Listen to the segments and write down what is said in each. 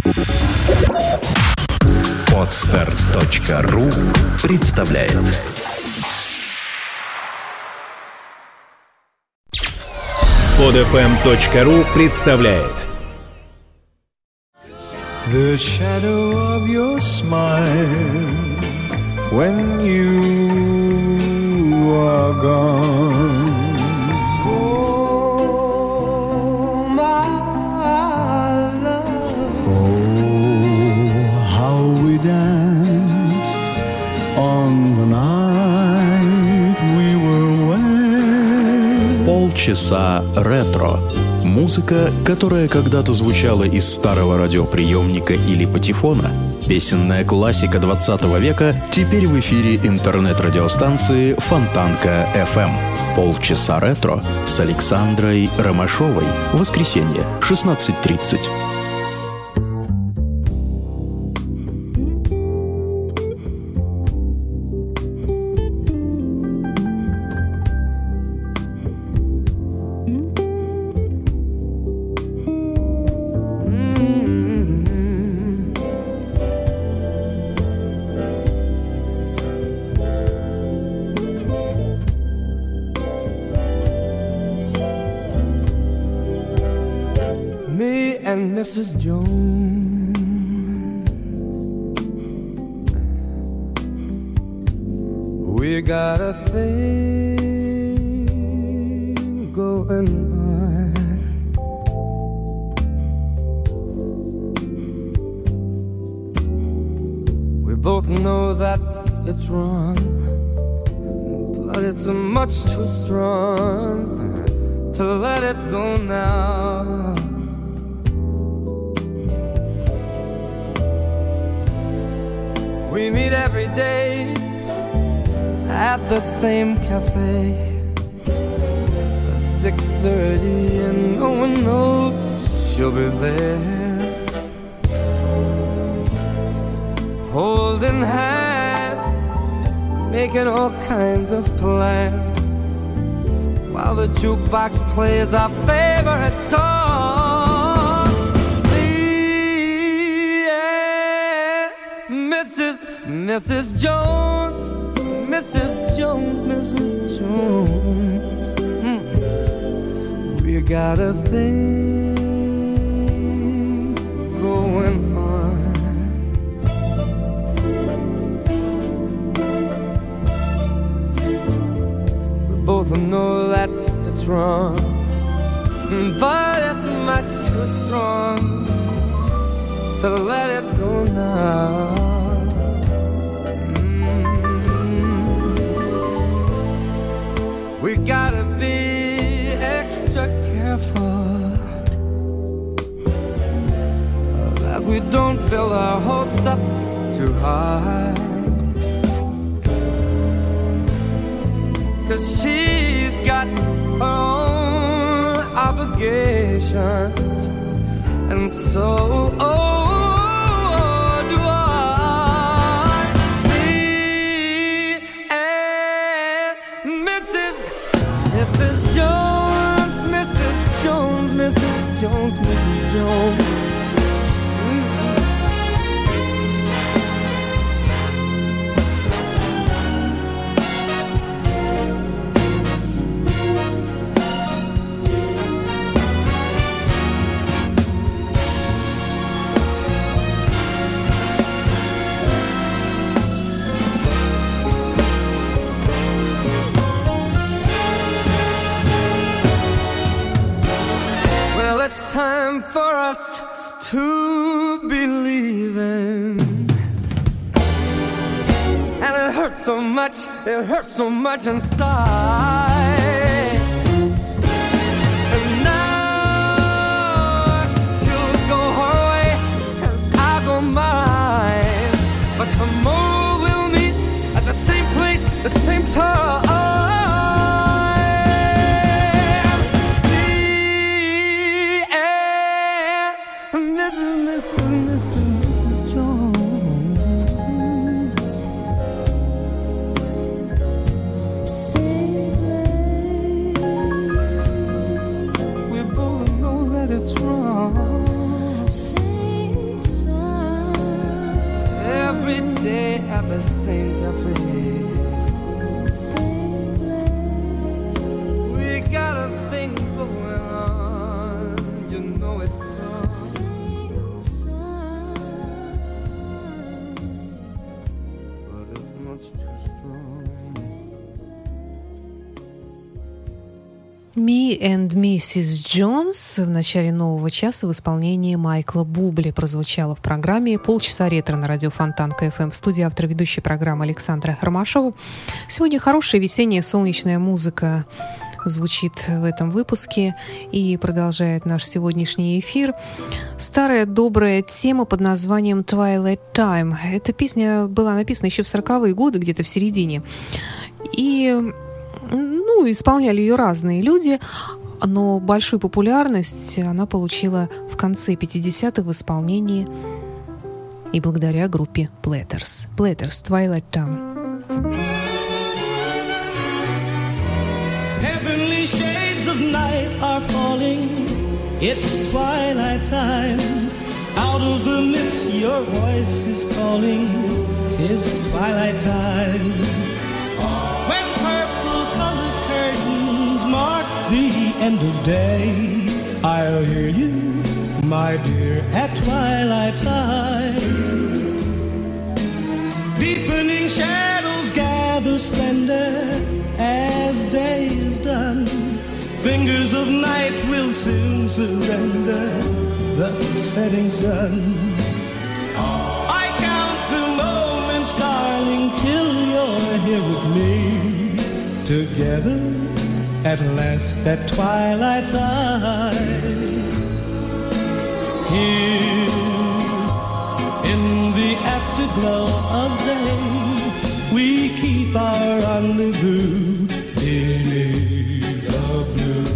Podster.ru представляет. Podfm.ru представляет. The shadow of your smile when you are gone. Oh, my love. Oh, how we danced on the night we were wed. Полчаса ретро. Музыка, которая когда-то звучала из старого радиоприемника или патефона. Песенная классика 20 века теперь в эфире интернет-радиостанции Фонтанка FM. Полчаса ретро с Александрой Ромашовой. Воскресенье, 16:30. And Mrs. Jones, we got a thing going on. We both know that it's wrong, but it's much too strong to let it go now. We meet every day at the same cafe, 6:30, and no one knows she'll be there, holding hands, making all kinds of plans, while the jukebox plays our favorite song. Mrs. Jones, Mrs. Jones, Mrs. Jones, we got a thing going on. We both know that it's wrong, but it's much too strong to let it go now. We gotta be extra careful that we don't build our hopes up too high, 'cause she's got her own obligations, and so do I. Me and Mrs. Jones, Mrs. Jones, Mrs. Jones, Mrs. Jones. It's time for us to be leaving, and it hurts so much inside. And now she'll go her way and I'll go mine, but tomorrow we'll meet at the same place, the same time. Mrs. Jones, we both know that it's wrong. at the same cafe. We got a thing going on, you know it's but it's much too strong. Me and Mrs. Jones в начале нового часа в исполнении Майкла Бубли прозвучало в программе «Полчаса ретро» на радио Фонтан КФМ. В студии автор ведущей программы Александра Ромашова. Сегодня хорошая весенняя солнечная музыка звучит в этом выпуске и продолжает наш сегодняшний эфир. Старая добрая тема под названием «Twilight Time». Эта песня была написана еще в 40-е годы, где-то в середине. И исполняли ее разные люди, но большую популярность она получила в конце 50-х в исполнении и благодаря группе Platters. Platters, Twilight Time. Heavenly shades of night are falling. It's twilight time. Out of the mist your voice is calling. 'Tis twilight time. When purple-colored curtains mark the end of day, I'll hear you, my dear, at twilight time. Deepening shadows gather splendor as day is done. Fingers of night will soon surrender the setting sun. I count the moments, darling, till you're here with me. Together at last at twilight time. Here in the afterglow of day, we keep our rendezvous beneath the blue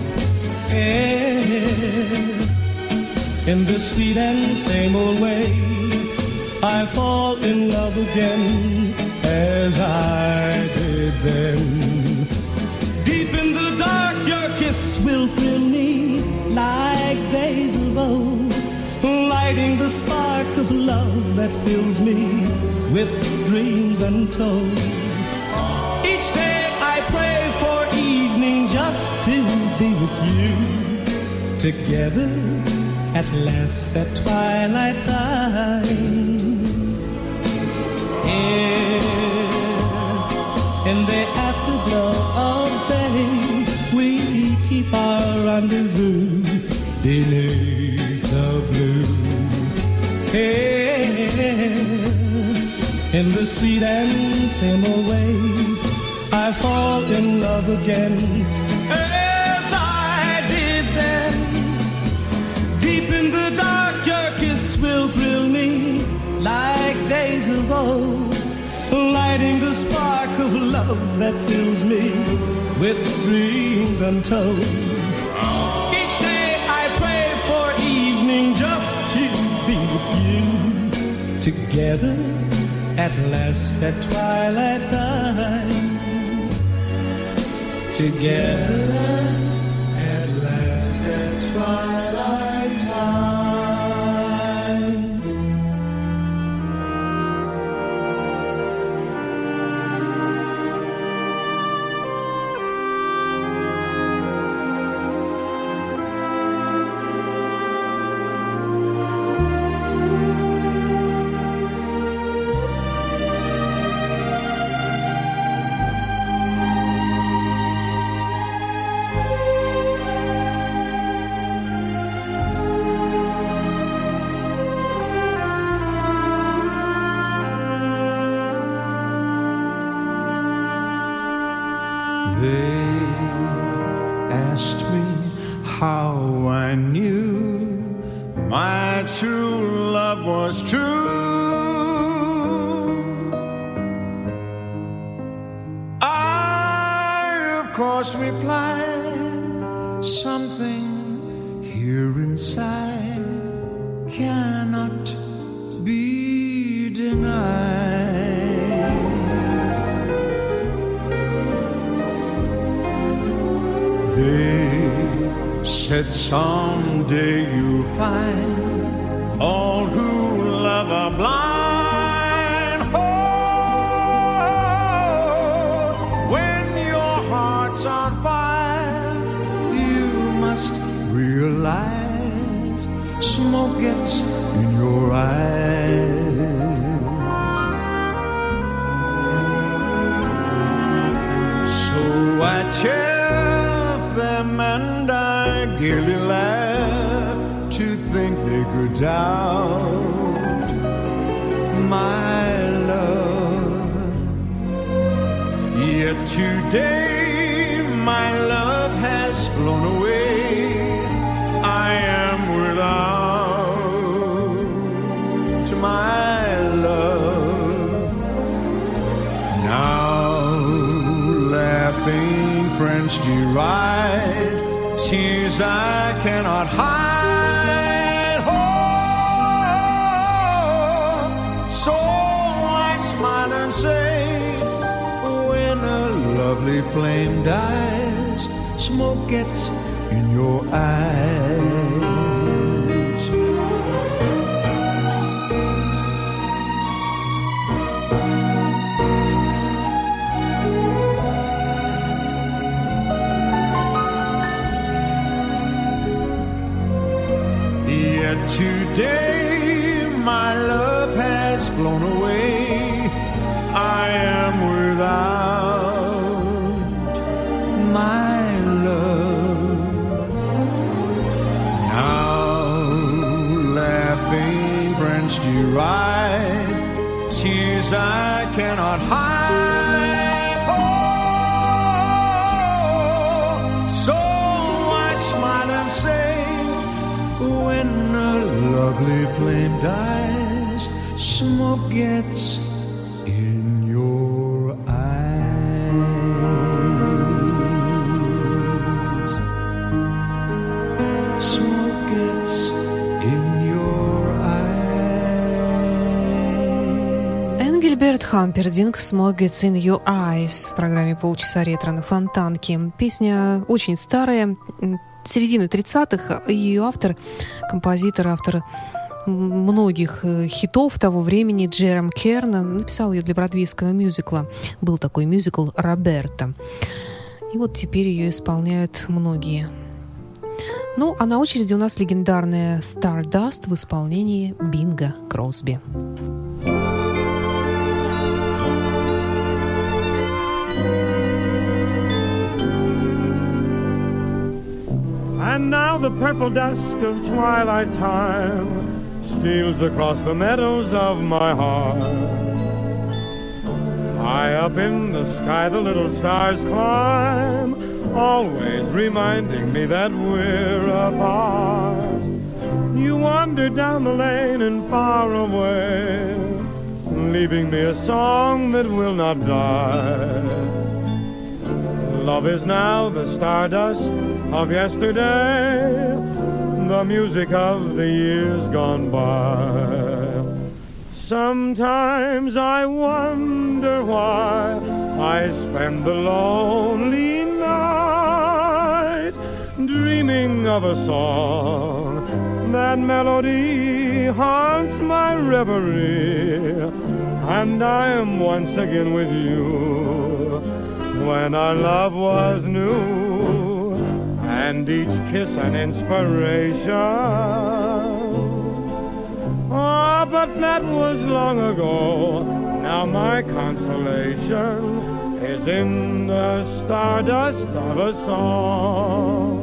air. In the sweet and same old way, I fall in love again as I did then. Deep in the dark, your kiss will thrill me like days of old, lighting the spark of love that fills me with dreams untold. Each day I pray for evening just to be with you. Together at last at twilight time. In the afterglow of day, we keep our rendezvous beneath the blue air. In the sweet and same old way, I fall in love again as I did then. Deep in the dark, your kiss will thrill me like days of old, lighting the spark of love that fills me with dreams untold. Each day I pray for evening just to be with you. Together at last at twilight time. Together at last at twilight time. They asked me how I knew my true love was true. I, of course, replied, something here inside cannot be denied. They said someday you'll find all who love are blind. Oh, smoke gets in your eyes. So I chaff them and I gaily laugh to think they could doubt my love. Yet today my love has flown away. I am without my love. Now laughing friends deride tears I cannot hide. Oh, so I smile and say, when a lovely flame dies, smoke gets in your eyes. Yet today my love has flown away. I am without my love. Now laughing friends deride tears I cannot hide. Oh, so I smile and say, when a lovely flame dies, smoke gets in your eyes. Smoke gets in your eyes. Энгельберт Хампердинг «Smoke Gets in Your Eyes» в программе «Полчаса ретро» на Фонтанке. Песня очень старая, середины 30-х, и ее автор, композитор, автор многих хитов того времени Джером Керн написал ее для бродвейского мюзикла. Был такой мюзикл «Роберто». И вот теперь ее исполняют многие. Ну, а на очереди у нас легендарная «Stardust» в исполнении Бинга Кросби. And now the purple dusk of twilight time steals across the meadows of my heart. High up in the sky the little stars climb, always reminding me that we're apart. You wander down the lane and far away, leaving me a song that will not die. Love is now the stardust of yesterday, the music of the years gone by. Sometimes I wonder why I spend the lonely night dreaming of a song. That melody haunts my reverie, and I am once again with you when our love was new, and each kiss an inspiration. Ah, but that was long ago. Now my consolation is in the stardust of a song.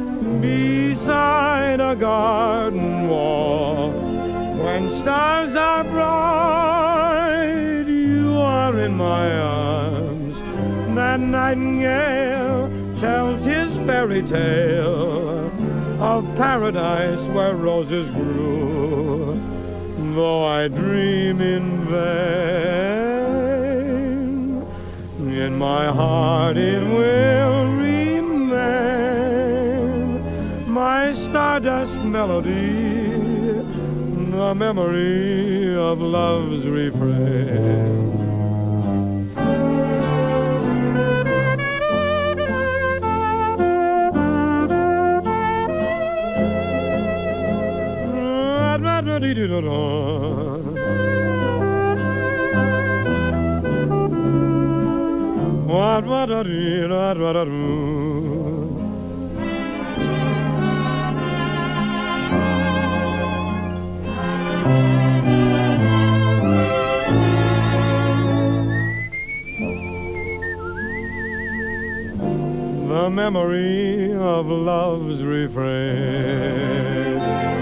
Beside a garden wall, when stars are bright, you are in my arms. That nightingale tells his fairy tale of paradise where roses grew. Though I dream in vain, in my heart it will remain, my stardust melody, the memory of love's refrain. memory of love's refrain.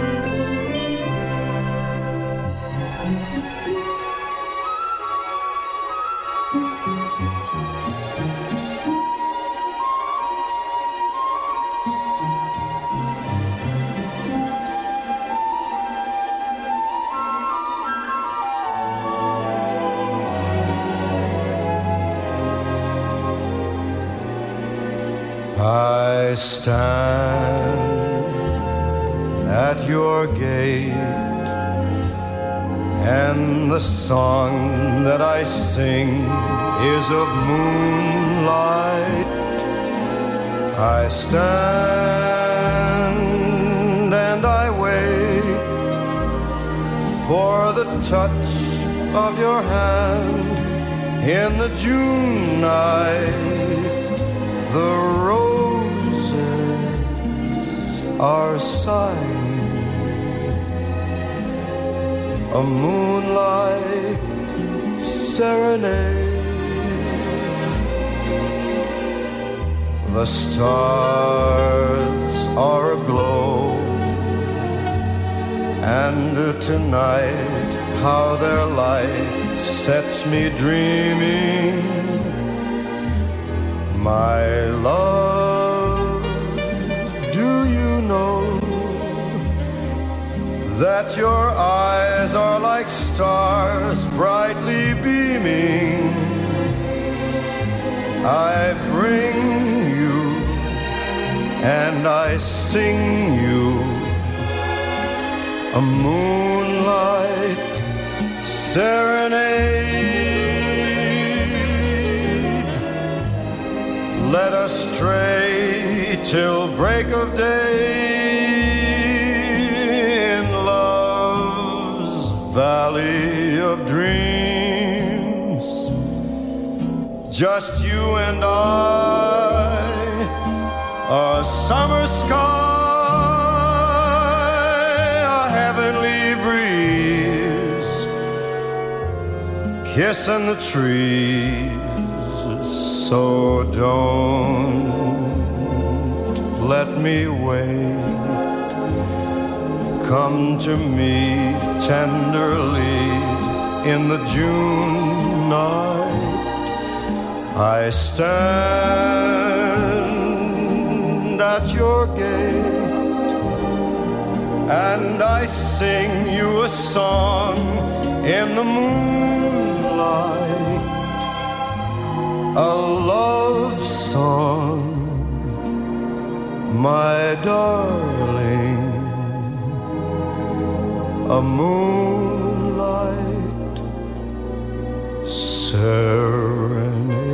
I stand at your gate, and the song that I sing is of moonlight. I stand and I wait for the touch of your hand in the June night. The roses are sighing, a moonlight serenade. The stars are aglow, and tonight how their light sets me dreaming. My love, do you know that your eyes are like stars brightly beaming? I bring you and I sing you a moonlight serenade. Let us stray till break of day in love's valley of dreams. Just you and I, a summer sky, a heavenly breeze, kissing the trees. So don't let me wait. Come to me tenderly in the June night. I stand at your gate and I sing you a song in the moonlight. A love song, my darling, a moonlight serenade.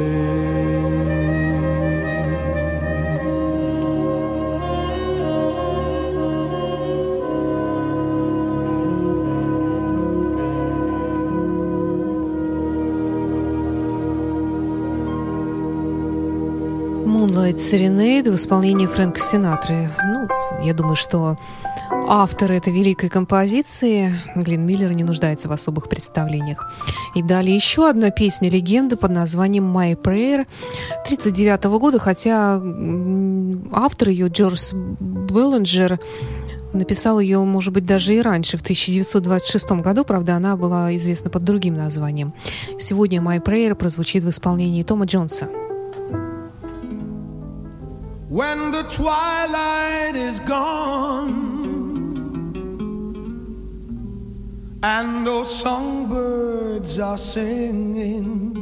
Moonlight Serenade в исполнении Фрэнка Синатры. Ну, я думаю, что автор этой великой композиции, Глен Миллер, не нуждается в особых представлениях. И далее еще одна песня-легенда под названием «My Prayer» 1939 года, хотя автор ее, Джордж Беллинджер, написал ее, может быть, даже и раньше, в 1926 году, правда, она была известна под другим названием. Сегодня «My Prayer» прозвучит в исполнении Тома Джонса. When the twilight is gone and those songbirds are singing,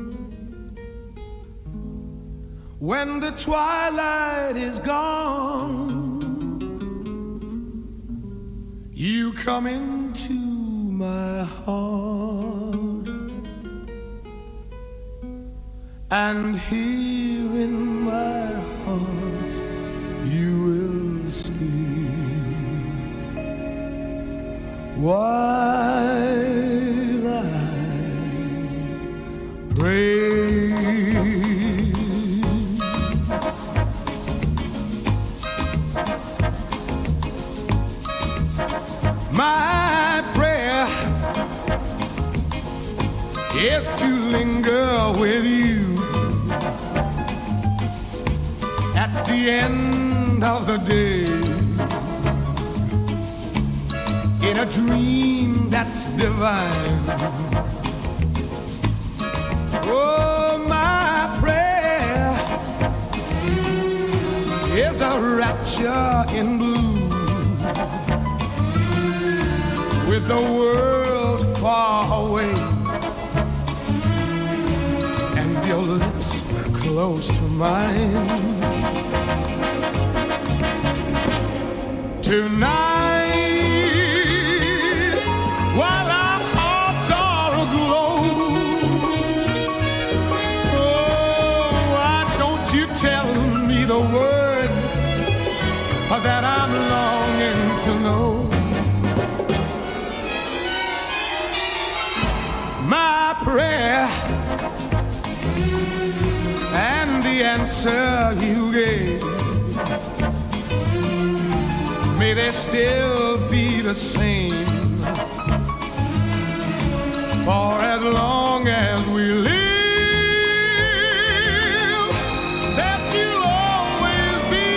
when the twilight is gone, you come into my heart, and here in my heart you will sleep while I pray. My prayer is to linger with you at the end of the day, in a dream that's divine. Oh, my prayer is a rapture in blue, with the world far away and your lips close to mine. Tonight, while our hearts are aglow, oh, why don't you tell me the words that I'm longing to know? My prayer and the answer you gave, may they still be the same for as long as we live, that you'll always be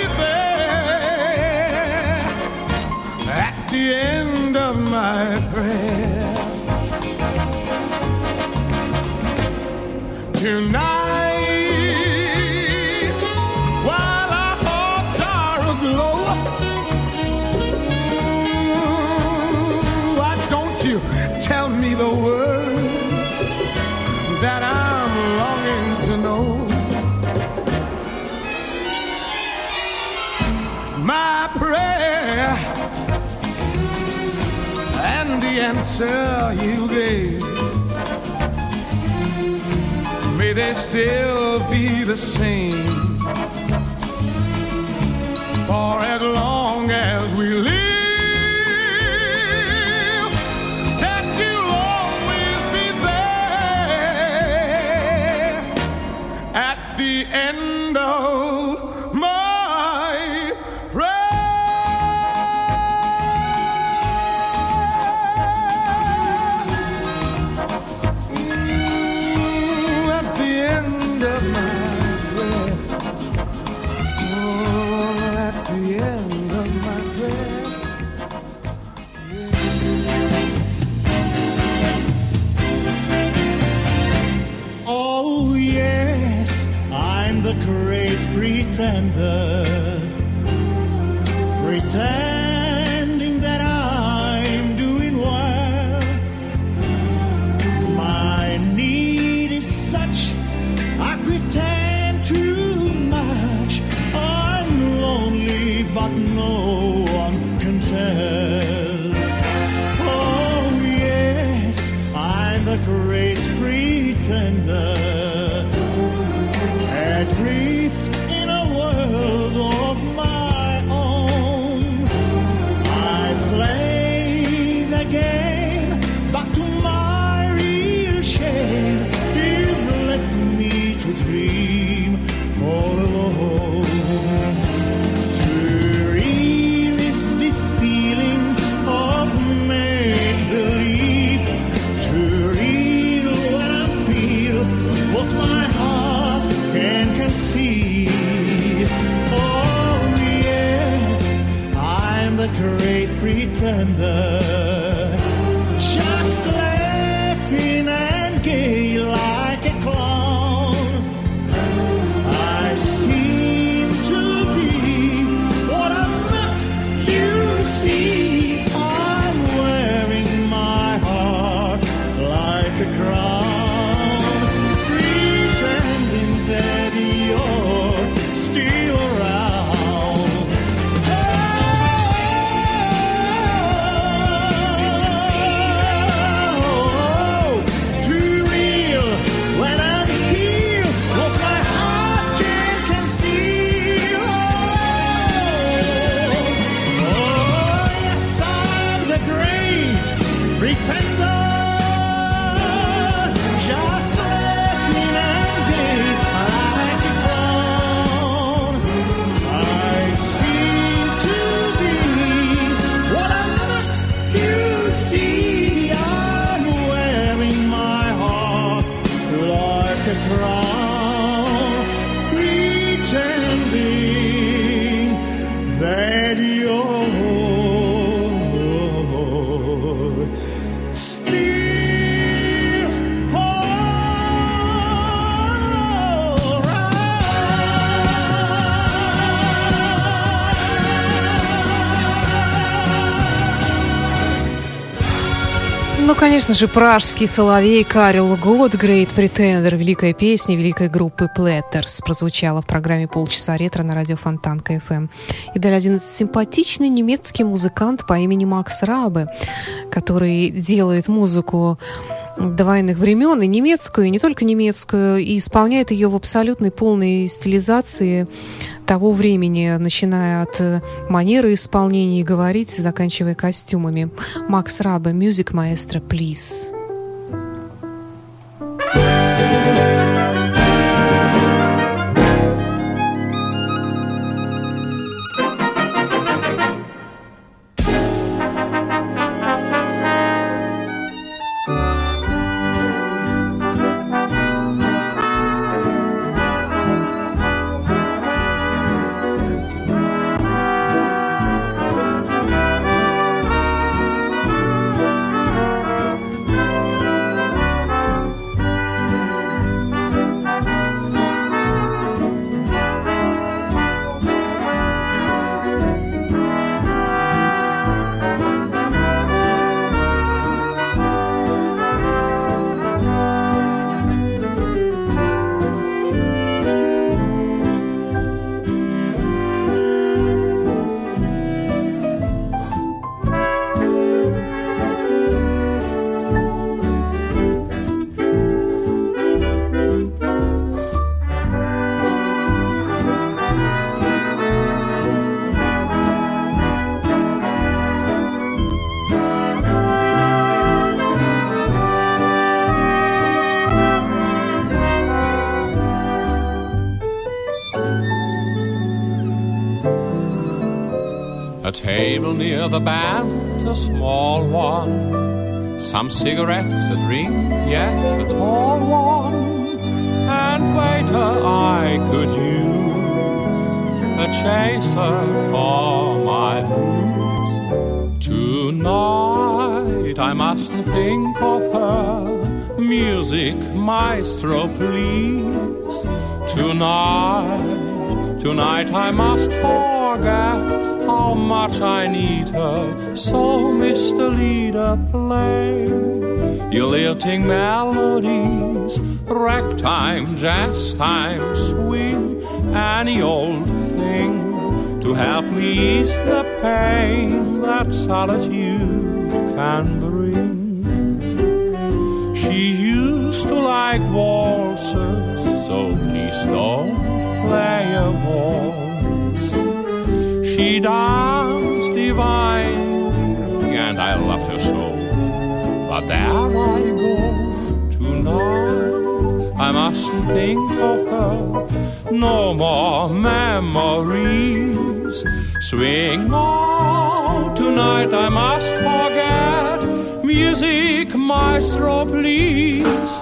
there at the end of my prayer. Tonight, while our hearts are aglow, why don't you tell me the words that I'm longing to know? My prayer and the answer you gave, may they still be the same for as long as we live, that you'll always be there at the end of my pretending that I'm doing well. My need is such, I pretend too much. I'm lonely, but no one can tell. Oh yes, I'm the great pretender, adrift in a world of my own. I play the game, but to my real shame, you've left me to dream all alone. To release this feeling of make-believe, to real what I feel, what my heart can conceive. Oh yes, I'm the great pretender, just laughing and gay like a clown. I seem to be what I'm not, you see. I'm wearing my heart like a crown, pretending that you're still around. Oh, Ну, конечно же, пражский соловей Карел Гот, Great Pretender, великая песня великой группы Platters, прозвучала в программе «Полчаса ретро» на радио Фонтанка FM. И далее один симпатичный немецкий музыкант по имени Макс Рабе, который делает музыку до военных времен, и немецкую, и не только немецкую, и исполняет ее в абсолютной полной стилизации того времени, начиная от манеры исполнения и говорить, заканчивая костюмами. Макс Рабе, Music Maestro, please. A table near the band, a small one. Some cigarettes, a drink, yes, a tall one. And waiter, I could use a chaser for my booze. Tonight I mustn't think of her. Music maestro, please. Tonight I must forget how much I need her. So, Mr. Leader, play your lilting melodies, ragtime, jazz time, swing, any old thing to help me ease the pain that solitude can bring. She used to like waltzes, so please don't play a waltz. She danced divinely, and I loved her so. But there I go tonight. I mustn't think of her. No more memories. Swing on tonight. I must forget. Music maestro, please.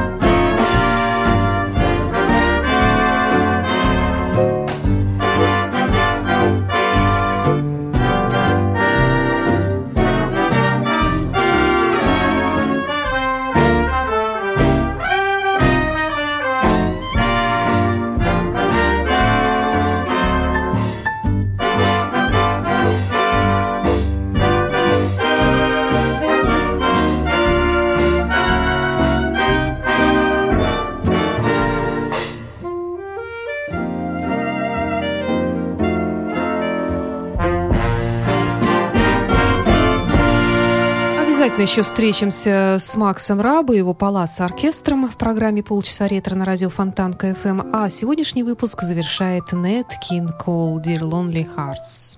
Обязательно еще встретимся с Максом Рабе и его Палац оркестром в программе «Полчаса ретро» на радио Фонтанка FM. А сегодняшний выпуск завершает Nat King Cole «Dear Lonely Hearts».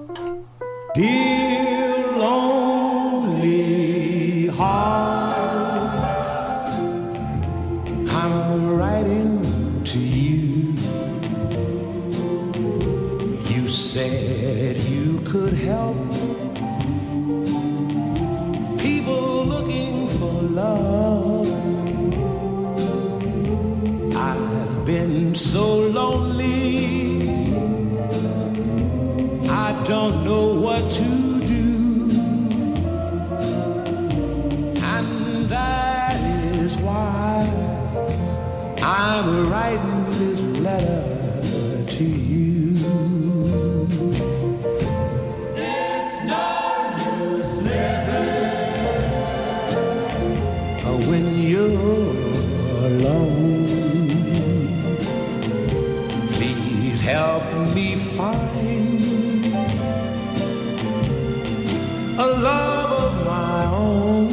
Dear lonely heart, I'm writing to you. You said you could help people looking for love. I've been so lonely, I don't know what to do, and that is why I'm writing this letter to you. It's no use living alone. Please help me find a love of my own.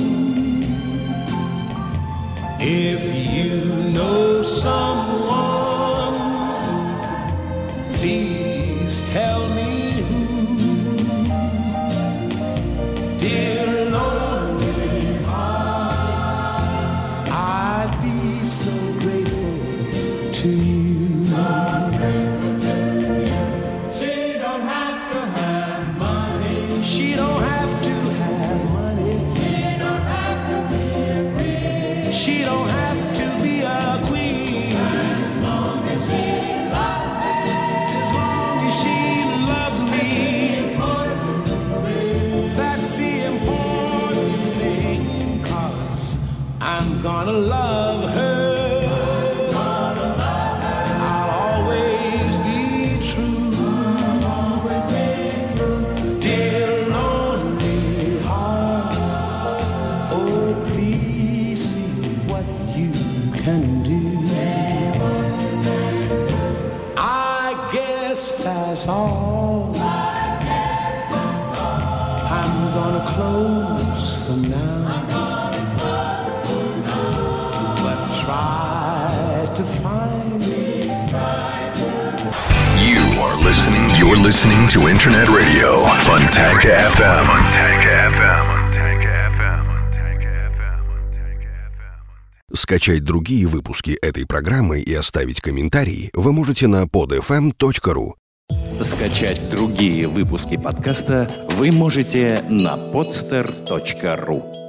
If you know someone, please tell me who. Dear lonely heart, I'd be so grateful to you. She don't have to have money. She don't have to have money. She don't have to be a queen. She don't have to be a queen. As long as she loves me. As long as she loves me. That's the important thing, 'cause I'm gonna love her. I'll always be true. Dear lonely heart, oh please see what you can do. I guess that's all. I'm gonna close for now, but try to find. You're listening to Internet Radio Fontanka FM. Скачать другие выпуски этой программы и оставить комментарии вы можете на podfm.ru. Скачать другие выпуски подкаста вы можете на podster.ru.